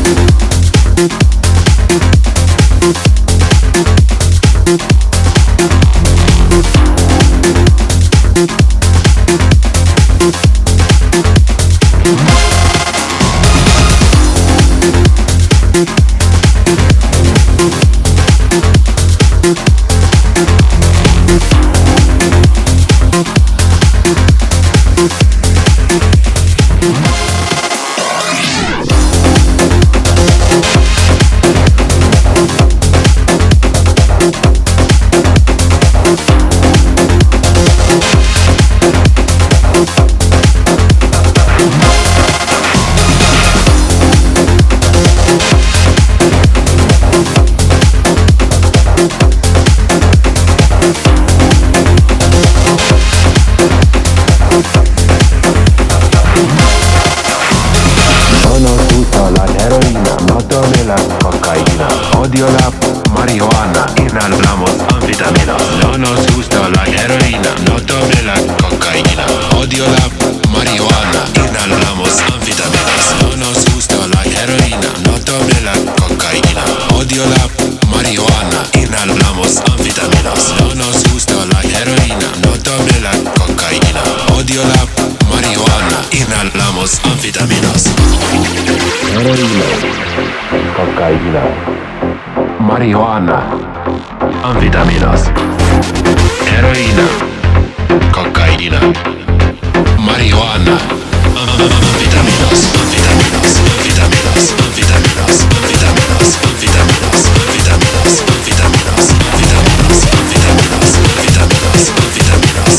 Odio la marihuana, inhalamos anfetaminas. No nos gusta la heroína, no tome la cocaína. Odio la marihuana, inhalamos anfetaminas. No nos gusta la heroína, no tome la cocaína. Odio la marihuana, inhalamos anfetaminas. No nos gusta la heroína, no tome la cocaína. Odio la marihuana, inhalamos anfetaminas. Heroína, cocaína, marihuana, anfetaminas. Heroína, cocaína, marihuana, anfetaminas, anfetaminas, anfetaminas, anfetaminas, anfetaminas, anfetaminas, anfetaminas, anfetaminas, anfetaminas, anfetaminas, anfetaminas, anfetaminas,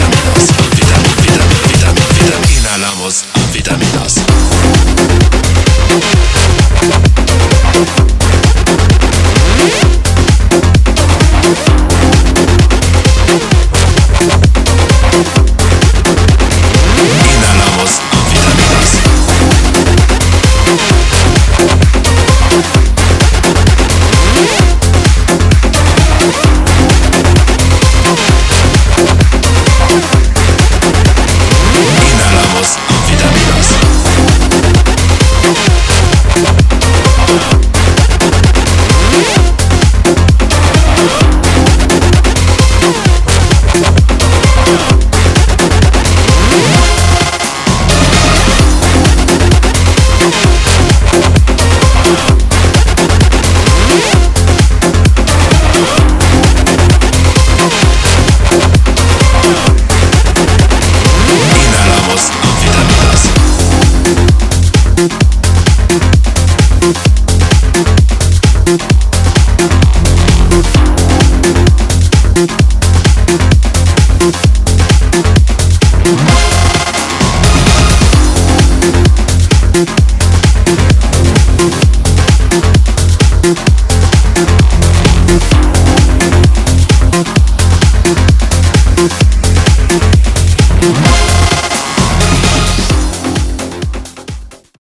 anfetaminas, inhalamos anfetaminas.